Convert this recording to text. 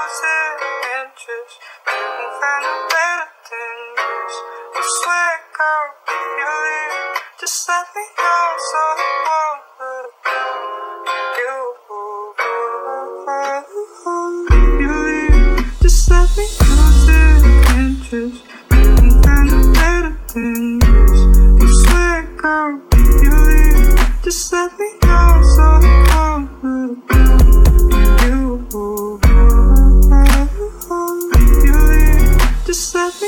losing interest. You can find a better than this. I swear, girl, if you leave, just let me know so I won't let go. If you leave, just let me losing interest. You can find a better than this. I swear, girl, if you leave, just let me know so I won't let go. If you leave, just let me